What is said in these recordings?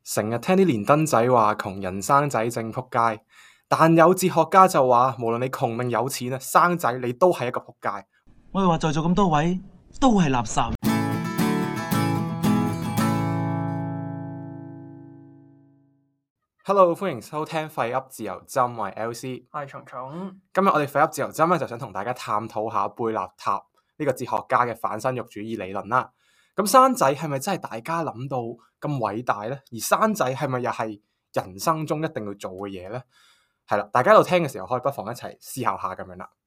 成日聽啲連登仔話窮人生仔正仆街，但有哲學家就話無論你窮定有錢啊，生仔你都係一個仆街。 我哋話在座咁多位都係垃圾。 Hello， 歡迎收聽廢噏自由針，我係 LC， 我係蟲蟲。 今日我哋廢噏自由針咧就想同大家探討下貝納塔呢個哲學家嘅反生育主義理論啦。咁生仔係咪真係大家諗到咁偉大呢？而生仔係咪又係人生中一定要做嘅嘢呢？係啦，大家喺度聽嘅時候，可以不妨一齊思考下咁樣啦。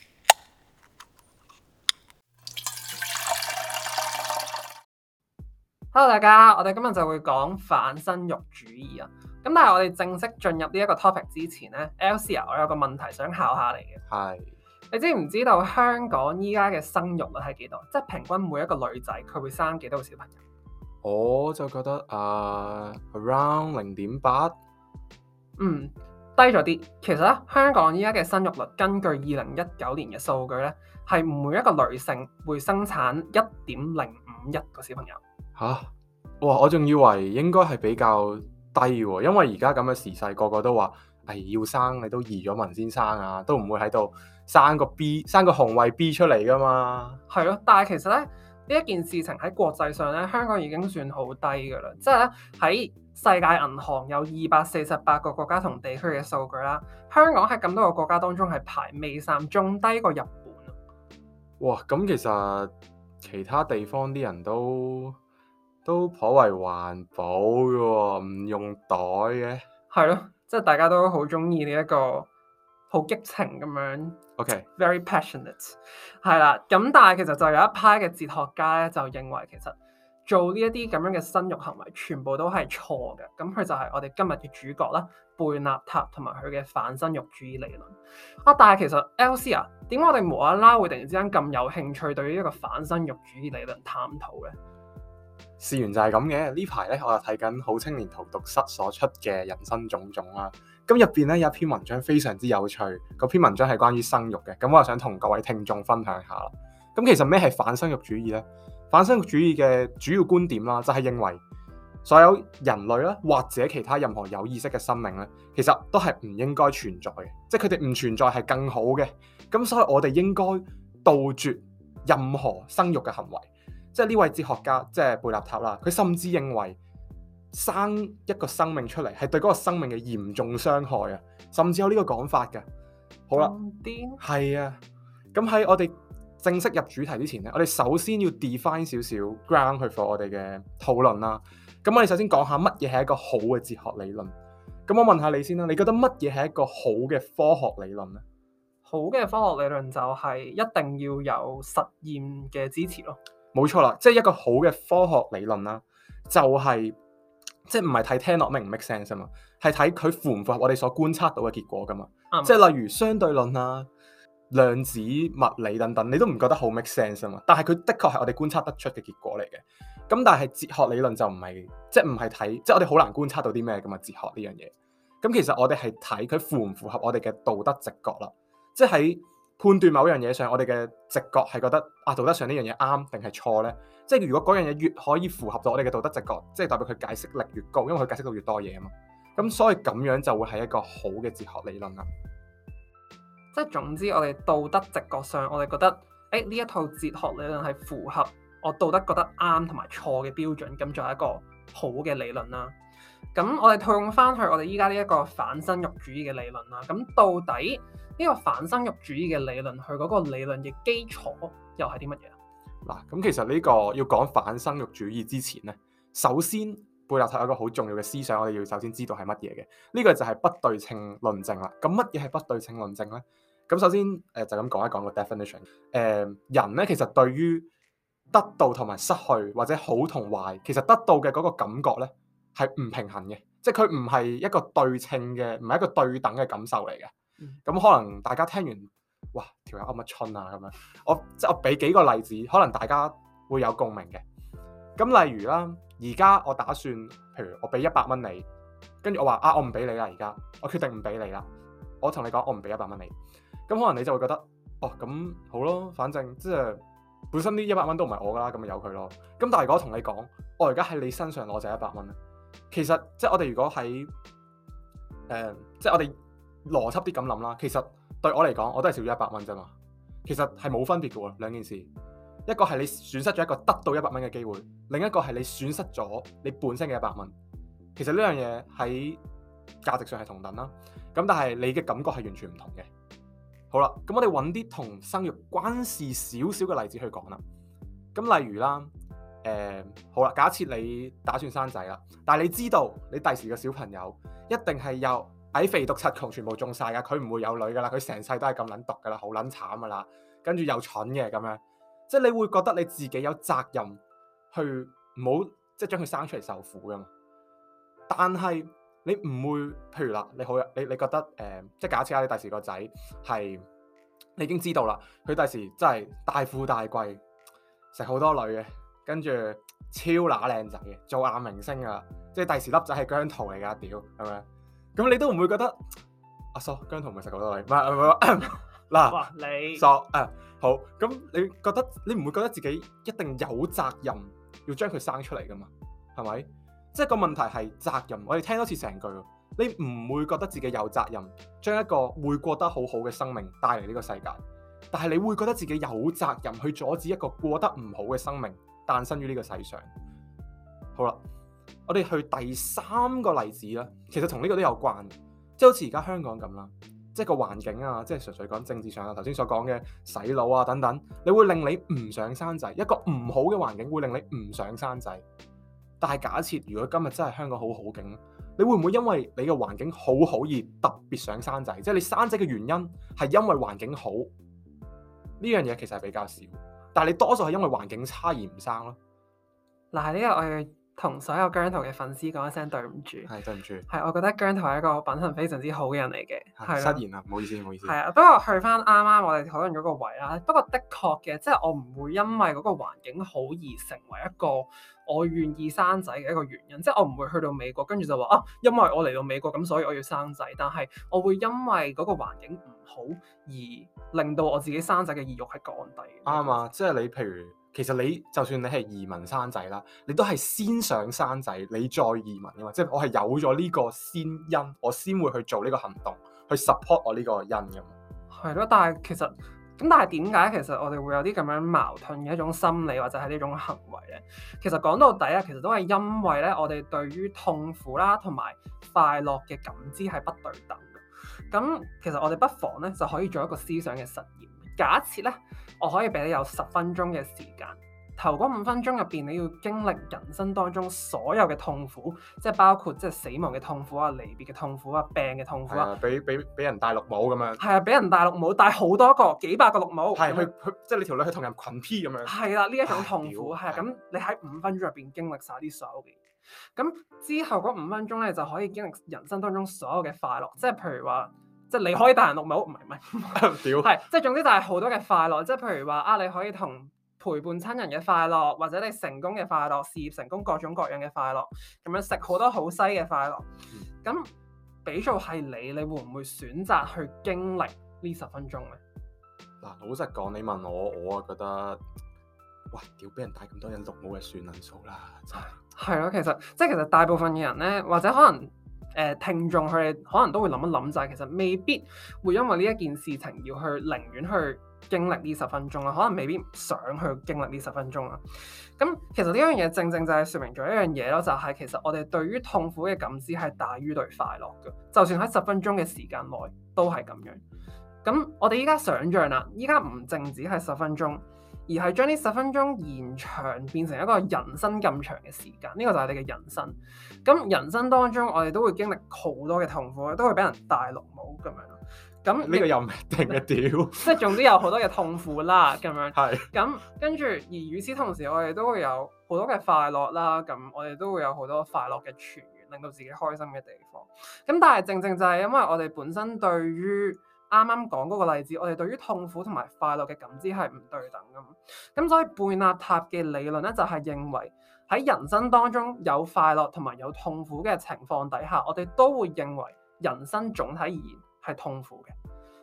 Hello， 大家，我哋今日就會講反生育主義啊。咁但係我哋正式進入呢一個 topic 之前呢 LC 我有個問題想考下你嘅。係。你知唔知道香港依家嘅生育率係幾多？即係平均每一個女仔佢會生幾多個小朋友？ 我就覺得around 0.8。 低咗啲。其實咧，香港依家嘅生育率根據2019年嘅數據咧，係每一個女性會生產1.051個小朋友。 吓？哇！我仲以為應該係比較低喎，因為而家咁嘅時勢，個個都話要生你都移咗民先生啊，都唔會喺度生個 B 生個紅衛 B 出嚟噶嘛。 係咯，但係其實咧呢一件事情喺國際上咧，香港已經算好低噶啦。即係咧喺世界銀行有248個國家同地區嘅數據啦，香港喺咁多個國家當中係排尾三，仲低過日本。 哇！咁其實其他地方啲人都頗為環保嘅喎，唔用袋嘅。 係咯，即係大家都好中意呢一個好激情咁樣。OK，very passionate。係啦，咁但係其實就有一派嘅哲學家咧，就認為其實做呢一啲咁樣嘅生育行為，全部都係錯嘅。咁佢就係我哋今日嘅主角啦，貝納塔同埋佢嘅反生育主義理論。但係其實 LC 點解我哋無啦啦會突然之間咁有興趣對於一個反生育主義理論探討嘅？ 事緣就係咁嘅，呢排咧我又睇緊好青年荼毒室所出嘅人生種種啦。咁入邊咧有一篇文章非常之有趣，嗰篇文章係關於生育嘅。咁我又想同各位聽眾分享下啦。咁其實咩係反生育主義呢？反生育主義嘅主要觀點啦，就係認為所有人類啦，或者其他任何有意識嘅生命咧，其實都係唔應該存在嘅，即係佢哋唔存在係更好嘅。咁所以我哋應該杜絕任何生育嘅行為。即係呢位哲學家，即係貝納塔啦，佢甚至認為生一個生命出嚟係對嗰個生命嘅嚴重傷害啊，甚至有呢個講法嘅。好啦，係啊，咁喺我哋正式入主題之前咧，我哋首先要 define 少少 ground 去 for 我哋嘅討論啦。咁我哋首先講下乜嘢係一個好嘅哲學理論。咁我問下你先啦，你覺得乜嘢係一個好嘅科學理論咧？ 好嘅科學理論就係一定要有實驗嘅支持咯。 冇錯啦，即係一個好嘅科學理論啦，就係即係唔係睇聽落明唔 make sense 啊嘛，係睇佢符唔符合我哋所觀察到嘅結果噶嘛。即係例如相對論啊、量子物理等等，你都唔覺得好 make sense 啊嘛。但係佢的確係我哋觀察得出嘅結果嚟嘅。咁但係哲學理論就唔係，即係唔係睇，即係我哋好難觀察到啲咩噶嘛。哲學呢樣嘢，咁其實我哋係睇佢符唔符合我哋嘅道德直覺啦。即係喺判斷某樣嘢上，我哋嘅直覺係覺得道德上呢樣嘢啱定係錯呢？即係如果嗰樣嘢越可以符合到我哋嘅道德直覺，即係代表佢解釋力越高，因為佢解釋到越多嘢啊嘛。咁所以咁樣就會係一個好嘅哲學理論啦。 即係總之，我哋道德直覺上，我哋覺得呢一套哲學理論係符合我道德覺得啱同埋錯嘅標準，咁就係一個好嘅理論啦。咁我哋套用翻去我哋依家呢一個反生育主義嘅理論啦。咁到底呢個反生育主義嘅理論，佢嗰個理論嘅基礎又係啲乜嘢？ 嗱，咁其實呢個要講反生育主義之前咧，首先貝納塔有一個好重要嘅思想，我哋要首先知道係乜嘢嘅。呢個就係不對稱論證啦。咁乜嘢係不對稱論證咧？咁首先就咁講一講個 definition。人咧其實對於得到同埋失去或者好同壞，其實得到嘅嗰個感覺咧係唔平衡嘅，即係佢唔係一個對稱嘅，唔係一個對等嘅感受嚟嘅。咁可能大家聽完，哇，條友噏乜春啊咁樣，我俾幾個例子，可能大家會有共鳴嘅。咁例如啦，而家我打算，譬如我俾100蚊你，跟住我話我唔俾你啦，而家我決定唔俾你啦。我同你講，我唔俾100蚊你。咁可能你就會覺得，咁好咯，反正即係本身呢100蚊都唔係我噶啦，咁咪由佢咯。咁但係如果我同你講，我而家喺你身上攞就100蚊啦， 其實即係我哋如果喺即係我哋邏輯啲咁諗啦，其實對我嚟講，我都係少咗100蚊啫嘛。其實係冇分別嘅喎，兩件事。一個係你損失咗一個得到100蚊嘅機會，另一個係你損失咗你本身嘅100蚊。其實呢樣嘢喺價值上係同等啦。咁但係你嘅感覺係完全唔同嘅。好啦，咁我哋揾啲同生育關事少少嘅例子去講啦。咁例如啦，好啦，假設你打算生仔啦，但係你知道你第時嘅小朋友一定係由矮肥毒柒窮全部中晒噶，佢唔會有女噶啦，佢成世都係咁撚毒噶啦，好撚慘噶啦，跟住又蠢嘅咁樣，即係你會覺得你自己有責任去唔好即係將佢生出嚟受苦噶嘛。但係你唔會，譬如啦，你覺得即係假設你第時個仔係你已經知道啦，佢第時真係大富大貴，食好多女嘅，跟住超乸靚仔嘅，做亞明星啊，即係第時粒仔係姜濤嚟噶，屌係咪？咁你都唔會覺得阿叔姜濤唔係食好多女，唔係嗱， 你索好，咁你覺得你唔會覺得自己一定有責任要將佢生出嚟噶嘛？係咪？即係個問題係責任，我哋聽多次成句，你唔會覺得自己有責任將一個會過得好好嘅生命帶嚟呢個世界，但係你會覺得自己有責任去阻止一個過得唔好嘅生命誕生於呢個世上。好啦，我哋去第3個例子啦，其實同呢個都有關，即係好似而家香港咁啦，即係個環境啊，即係純粹講政治上啊，頭先所講嘅洗腦啊等等，你會令你唔想生仔，一個唔好嘅環境會令你唔想生仔。但係假設如果今日真係香港好好景，你會唔會因為你嘅環境好好而特別想生仔？即係你生仔嘅原因係因為環境好，呢樣嘢其實係比較少，但係你多數係因為環境差而唔生咯。 嗱，呢個我要同所有姜濤嘅粉絲講一聲對唔住， 係對唔住， 係我覺得姜濤係一個品行非常之好嘅人嚟嘅，係失言啦，唔好意思，唔好意思。 係啊，不過去翻啱啱我哋討論嗰個位啦，不過的確嘅，即係我唔會因為嗰個環境好而成為一個我願意生仔嘅一個原因，即係我唔會去到美國跟住就話啊，因為我嚟到美國咁，所以我要生仔，但係我會因為嗰個環境唔好而令到我自己生仔嘅意欲係降低。 啱啊，即係你譬如。其實你就算你係移民生仔啦，你都係先想生仔，你再移民噶嘛。即係我係有咗呢個先因，我先會去做呢個行動，去 support 我呢個因噶嘛。 係咯，但係其實咁，但係點解其實我哋會有啲咁樣矛盾嘅一種心理或者係呢種行為咧？其實講到底啊，其實都係因為咧，我哋對於痛苦啦同埋快樂嘅感知係不對等嘅。咁其實我哋不妨咧就可以做一個思想嘅實驗。假設咧，我可以俾你有10分鐘嘅時間，頭嗰5分鐘入邊，你要經歷人生當中所有嘅痛苦，即係包括即係死亡嘅痛苦啊、離別嘅痛苦啊、病嘅痛苦啊， 俾人戴綠帽咁樣， 係啊，俾人戴綠帽，戴好多個幾百個綠帽， 係去即係你條女去同人群 P 咁樣， 係啦，呢一種痛苦係咁，你喺5分鐘入邊經歷晒啲所有嘅嘢，咁之後嗰5分鐘咧就可以經歷人生當中所有嘅快樂，即係譬如話。即係你可以戴人綠帽，唔係，係即係總之就係好多嘅快樂，即係譬如話啊，你可以同陪伴親人嘅快樂，或者你成功嘅快樂、事業成功各種各樣嘅快樂，咁樣食好多好西嘅快樂。咁俾做係你會唔會選擇去經歷呢10分鐘咧？ 嗱，老實講，你問我啊覺得，喂，屌俾人戴咁多人綠帽嘅算撚數啦，真係。係咯，其實大部分嘅人咧，或者可能。聽眾佢哋可能都會諗一諗，就係其實未必會因為呢一件事情要去寧願去經歷呢10分鐘啦，可能未必想去經歷呢10分鐘啦。咁其實呢樣嘢正正就係説明咗一樣嘢咯，就係其實我哋對於痛苦嘅感知係大於對快樂嘅，就算喺10分鐘嘅時間內都係咁樣。咁我哋依家想像啦，依家唔淨止係10分鐘。而係將呢10分鐘延長變成一個人生咁長嘅時間，呢個就係你嘅人生。咁人生當中，我哋都會經歷好多嘅痛苦，都會俾人戴綠帽咁樣。咁呢個又唔一定嘅屌， 即係總之有好多嘅痛苦啦，咁樣。 係。 咁跟住，而與此同時，我哋都會有好多嘅快樂啦。咁我哋都會有好多快樂嘅泉源，令到自己開心嘅地方。咁但係正正就係因為我哋本身對於啱啱講嗰個例子，我哋對於痛苦同埋快樂嘅感知係唔對等㗎嘛。咁所以貝納塔嘅理論咧，就係認為喺人生當中有快樂同埋有痛苦嘅情況底下，我哋都會認為人生總體而言係痛苦嘅。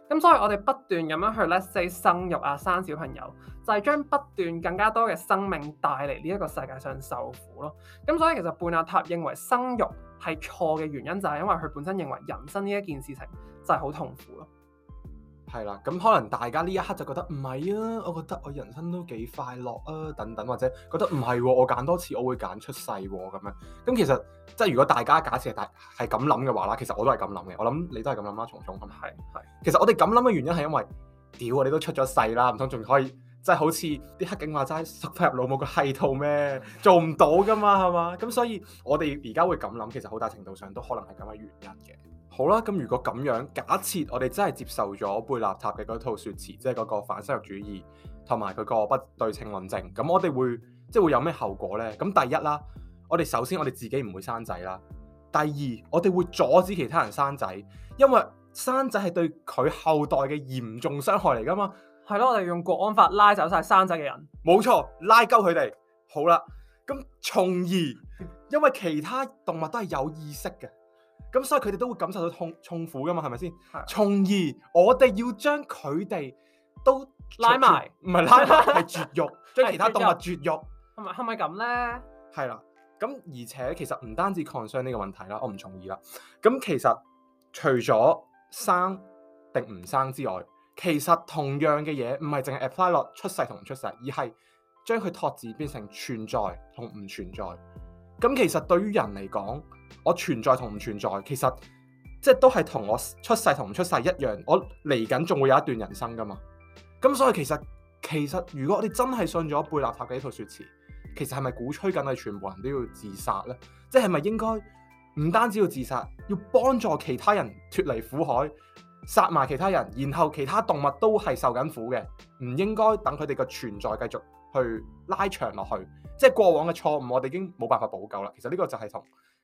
咁所以我哋不斷咁樣去 let's say 生育啊、生小朋友，就係將不斷更加多嘅生命帶嚟呢一個世界上受苦咯。咁所以其實貝納塔認為生育係錯嘅原因，就係因為佢本身認為人生呢一件事情就係好痛苦咯。 係啦，咁可能大家呢一刻就覺得唔係啊，我覺得我人生都幾快樂啊，等等，或者覺得唔係喎，我揀多次我會揀出世喎咁樣。咁其實即係如果大家假設係咁諗嘅話啦，其實我都係咁諗嘅。我諗你都係咁諗啦，蟲蟲咁。係。其實我哋咁諗嘅原因係因為，屌啊，你都出咗世啦，唔通仲可以即係好似啲黑警話齋塞翻入老母個閪度咩？做唔到噶嘛，係嘛？咁所以我哋而家會咁諗，其實好大程度上都可能係咁嘅原因嘅。好啦，咁如果咁樣假設我哋真係接受咗貝納塔嘅嗰套說辭，即係嗰個反生育主義同埋佢個不對稱論證，咁我哋會有咩後果呢？咁第一啦，我哋首先我哋自己唔會生仔啦。第二，我哋會阻止其他人生仔，因為生仔係對佢後代嘅嚴重傷害嚟噶嘛。 係咯，我哋用國安法拉走晒生仔嘅人。冇錯， 拉鳩佢哋。好啦，咁從而因為其他動物都係有意識嘅。咁所以佢哋都會感受到痛苦噶嘛，係咪先？從而我哋要將佢哋都拉埋， 唔係拉埋，係絕育，將其他動物絕育。 係咪咁咧？ 係啦，咁而且其實唔單止 concern 呢個問題啦，我唔同意啦。咁其實除咗生定唔生之外，其實同樣嘅嘢唔係淨係 apply 落出世同唔出世，而係將佢拓展變成存在同唔存在。咁其實對於人嚟講，我存在同唔存在，其實即係都係同我出世同唔出世一樣，我嚟緊仲會有一段人生噶嘛。咁所以其實如果我哋真係信咗貝納塔嘅呢套說辭，其實係咪鼓吹緊係全部人都要自殺呢？即係咪應該唔單止要自殺，要幫助其他人脫離苦海，殺埋其他人，然後其他動物都係受緊苦嘅，唔應該等佢哋嘅存在繼續去拉長落去。即係過往嘅錯誤，我哋已經冇辦法補救啦。其實呢個就係同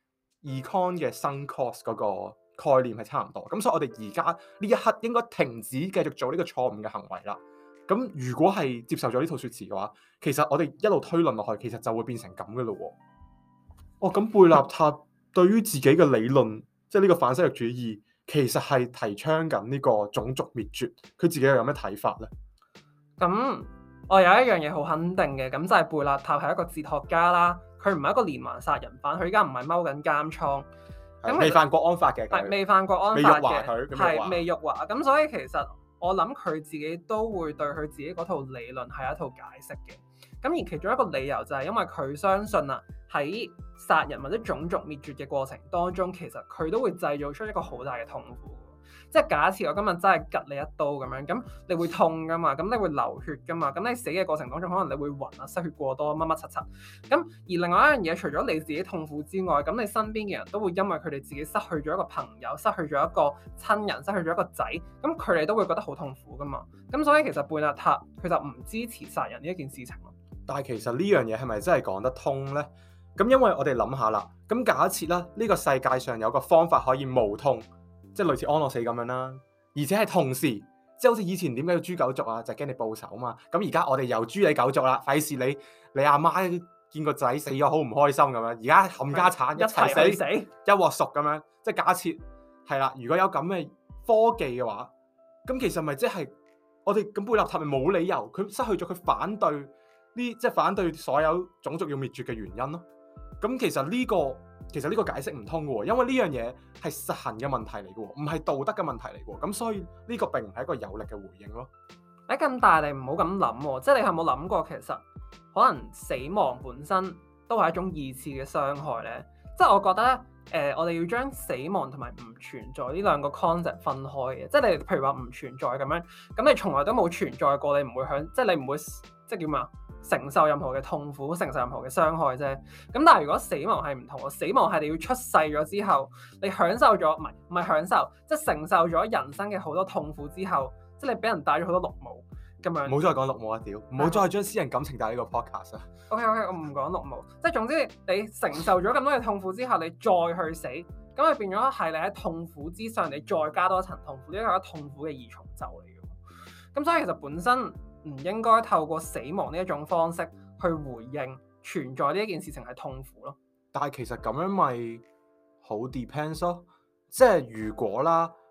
Econ 嘅 sunk cost 嗰個概念係差唔多。咁所以我哋而家呢一刻應該停止繼續做呢個錯誤嘅行為啦。咁如果係接受咗呢套說辭嘅話，其實我哋一路推論落去，其實就會變成咁嘅咯喎。哦，咁貝納塔對於自己嘅理論，即係呢個反生育主義，其實係提倡緊呢個種族滅絕。佢自己又有咩睇法呢？ 咁我有一樣嘢好肯定嘅，咁就係貝納塔係一個哲學家啦。佢唔係一個連環殺人犯，佢而家唔係踎緊監倉，咁未犯國安法嘅， 係未犯國安法嘅， 係未辱華。咁所以其實我諗佢自己都會對佢自己嗰套理論係一套解釋嘅。咁而其中一個理由就係因為佢相信啊，喺殺人或者種族滅絕嘅過程當中，其實佢都會製造出一個好大嘅痛苦。即係假設我今日真係拮你一刀咁樣，咁你會痛噶嘛？咁你會流血噶嘛？咁你死嘅過程當中，可能你會暈啊、失血過多、乜乜柒柒。咁而另外一樣嘢，除咗你自己痛苦之外，咁你身邊嘅人都會因為佢哋自己失去咗一個朋友、失去咗一個親人、失去咗一個仔，咁佢哋都會覺得好痛苦噶嘛。咁所以其實貝納塔佢就唔支持殺人呢一件事情咯。 但係其實呢樣嘢係咪真係講得通呢？咁因為我哋諗下啦，咁假設啦，呢個世界上有個方法可以無痛。即係類似安樂死咁樣啦，而且係同時，即係好似以前點解要誅狗族啊？就係驚你報仇啊嘛。咁而家我哋又誅你狗族啦，費事你阿媽見個仔死咗好唔開心咁樣。而家冚家產一齊死，一鑊熟咁樣。即係假設係啦，如果有咁嘅科技嘅話，咁其實咪即係我哋咁貝納塔咪冇理由佢失去咗佢反對即係反對所有種族要滅絕嘅原因咯。咁其實呢個解釋唔通嘅喎，因為呢樣嘢係實行嘅問題嚟嘅喎，唔係道德嘅問題嚟嘅喎，咁所以呢個並唔係一個有力嘅回應咯。 咁大你唔好咁諗喎，即係你有冇諗過其實可能死亡本身都係一種二次嘅傷害咧？即係我覺得我哋要將死亡同埋唔存在呢兩個 concept 分開嘅，即係你譬如話唔存在咁樣，咁你從來都冇存在過，你唔會即係你唔會即係叫咩啊？承受任何嘅痛苦，承受任何嘅傷害啫。咁但係如果死亡係唔同喎，死亡係你要出世咗之後，你享受咗唔係享受，即係承受咗人生嘅好多痛苦之後，即係你俾人戴咗好多綠帽咁樣。唔好再講綠帽啊！屌，唔好再將私人感情帶呢個 podcast 啊。OK， 我唔講綠帽，即係總之你承受咗咁多嘅痛苦之後，你再去死，咁就變咗係你喺痛苦之上，你再加多一層痛苦，呢個係痛苦嘅二重奏嚟嘅。咁所以其實本身唔應該透過死亡呢一種方式去回應存在呢一件事情係痛苦咯。但係其實咁樣咪好 depends 咯，即係如果啦，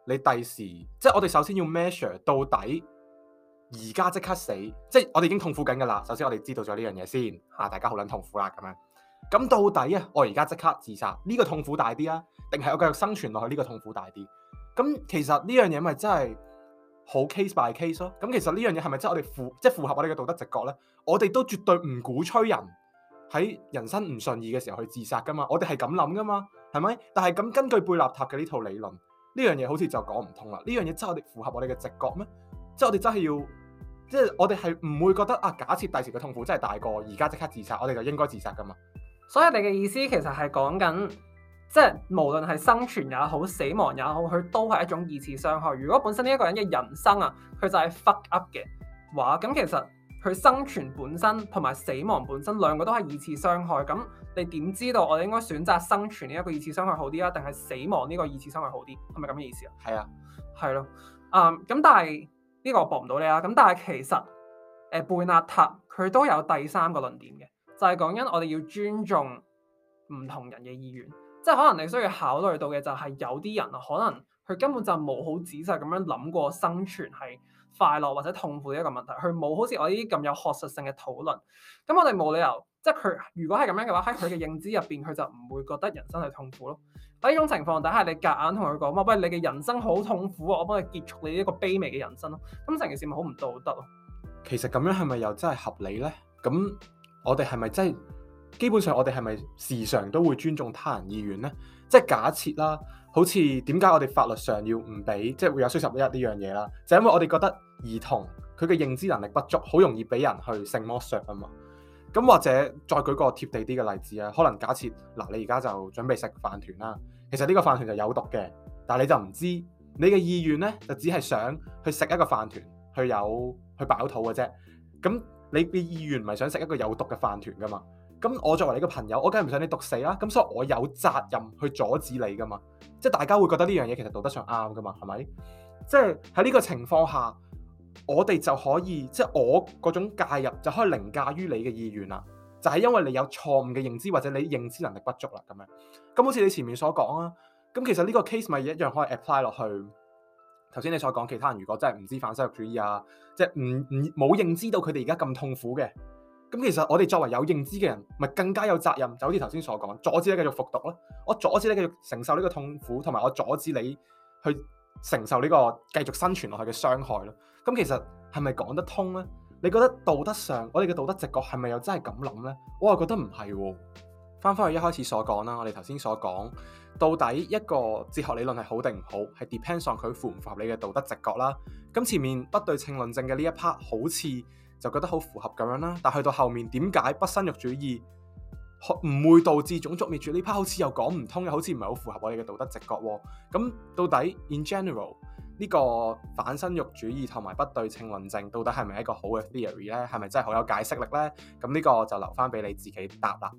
你第時即係我哋首先要 measure 到底而家即刻死，即係我哋已經痛苦緊㗎啦。首先我哋知道咗呢樣嘢先，大家好撚痛苦啦咁樣。咁到底啊，我而家即刻自殺呢個痛苦大啲啊，定係我繼續生存落去呢個痛苦大啲？咁其實呢樣嘢咪真係好 case by case 咯。咁其實呢樣嘢係咪真係我哋符合我哋嘅道德直覺咧？我哋都絕對唔鼓吹人喺人生唔順意嘅時候去自殺噶嘛。我哋係咁諗噶嘛，係咪？但係咁根據貝納塔嘅呢套理論，呢樣嘢好似就講唔通啦。呢樣嘢真係我哋符合我哋嘅直覺咩？即係我哋真係要，即係我哋係唔會覺得啊，假設第時嘅痛苦真係大過而家即刻自殺，我哋就應該自殺噶嘛。 所以你嘅意思其實係講緊，即係無論係生存也好，死亡也好，佢都係一種二次傷害。如果本身呢一個人嘅人生啊，佢就係 fuck up 嘅話，咁其實佢生存本身同埋死亡本身兩個都係二次傷害。咁你點知道我哋應該選擇生存呢一個二次傷害好啲啊，定係死亡呢個二次傷害好啲？係咪咁嘅意思啊？ 係啊， 係咯。咁但係呢個我駁唔到你啊。咁但係其實貝納塔佢都有第三個論點嘅。就係講緊我哋要尊重唔同人嘅意願，即係可能你需要考慮到嘅就係有啲人啊，可能佢根本就冇好仔細咁樣諗過生存係快樂或者痛苦嘅一個問題，佢冇好似我呢啲咁有學術性嘅討論。咁我哋冇理由，即係佢如果係咁樣嘅話，喺佢嘅認知入邊，佢就唔會覺得人生係痛苦咯。喺呢種情況底下，你夾硬同佢講話，喂，你嘅人生好痛苦啊，我幫你結束你呢個卑微嘅人生咯。咁成件事咪好唔道德咯？其實咁樣係咪又真係合理咧？咁我哋係咪真係基本上我哋係咪時常都會尊重他人意願呢？即係假設啦，好似點解我哋法律上要唔俾即係會有衰十一呢樣嘢啦？就因為我哋覺得兒童佢嘅認知能力不足，好容易俾人去性剝削啊嘛。咁或者再舉個貼地啲嘅例子啊，可能假設嗱，你而家就準備食飯團啦，其實呢個飯團就有毒嘅，但係你就唔知，你嘅意願呢，就只係想去食一個飯團，去飽肚嘅啫。咁你嘅意願唔係想食一個有毒嘅飯團噶嘛？咁我作為你個朋友，我梗係唔想你毒死啦。咁所以我有責任去阻止你噶嘛。即係大家會覺得呢樣嘢其實道德上啱噶嘛？係咪？即係喺呢個情況下，我哋就可以即係我嗰種介入就可以凌駕於你嘅意願啦。就係因為你有錯誤嘅認知或者你認知能力不足啦咁樣。咁好似你前面所講啊，咁其實呢個 case 咪一樣可以 apply 落去。頭先你所講其他人如果真係唔知反生育主義啊，即係冇認知到佢哋而家咁痛苦嘅，咁其實我哋作為有認知嘅人，咪更加有責任，就好似頭先所講，阻止你繼續服毒咯，我阻止你繼續承受呢個痛苦，同埋我阻止你去承受呢個繼續生存落去嘅傷害咯。咁其實係咪講得通呢？你覺得道德上我哋嘅道德直覺係咪又真係咁諗呢？我又覺得唔係喎。翻返去一開始所講啦，我哋頭先所講，到底一個哲學理論係好定唔好，係 depends on 佢符唔符合你嘅道德直覺啦。咁前面不對稱論證嘅呢一 part 好似就覺得好符合咁樣啦，但去到後面點解不生育主義唔會導致種族滅絕呢 part 好似又講唔通，又好似唔係好符合我哋嘅道德直覺喎。咁到底 in general 呢個反生育主義同埋不對稱論證到底係咪一個好嘅 theory 呢？係咪真係好有解釋力呢？咁呢個就留翻俾你自己答啦。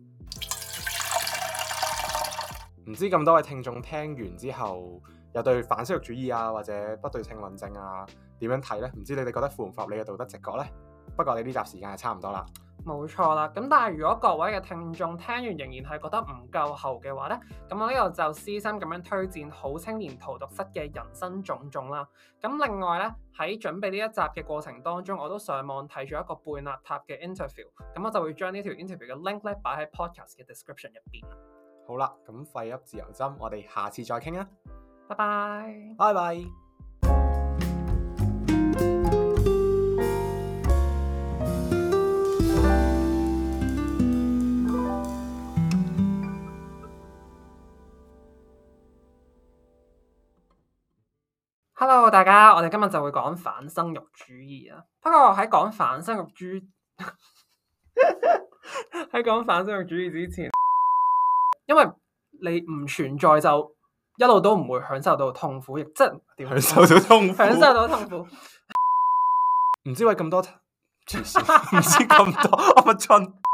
唔知咁多位聽眾聽完之後，又對反生育主義啊或者不對稱論證啊點樣睇呢？唔知你哋覺得符唔符合你嘅道德直覺呢？不過你呢集時間係差唔多啦。冇錯啦，咁但係如果各位嘅聽眾聽完仍然係覺得唔夠喉嘅話呢，咁我呢度就私心咁樣推薦好青年荼毒室嘅人生種種啦。咁另外呢，喺準備呢一集嘅過程當中，我都上網睇咗一個貝納塔嘅 interview，咁我就會將呢條 interview 嘅 link 咧擺喺 podcast 嘅 description 入邊。好啦，咁廢噏自由針，我哋下次再傾啊！拜拜，拜拜。Hello， 大家，我哋今日就會講反生育主義啊。不過喺講反生育主義喺講反生育主義之前，因為你唔存在就一路都唔會享受到痛苦，亦即係點享受到痛苦？享受到痛苦。唔知為咁多，唔知咁多，我乜春。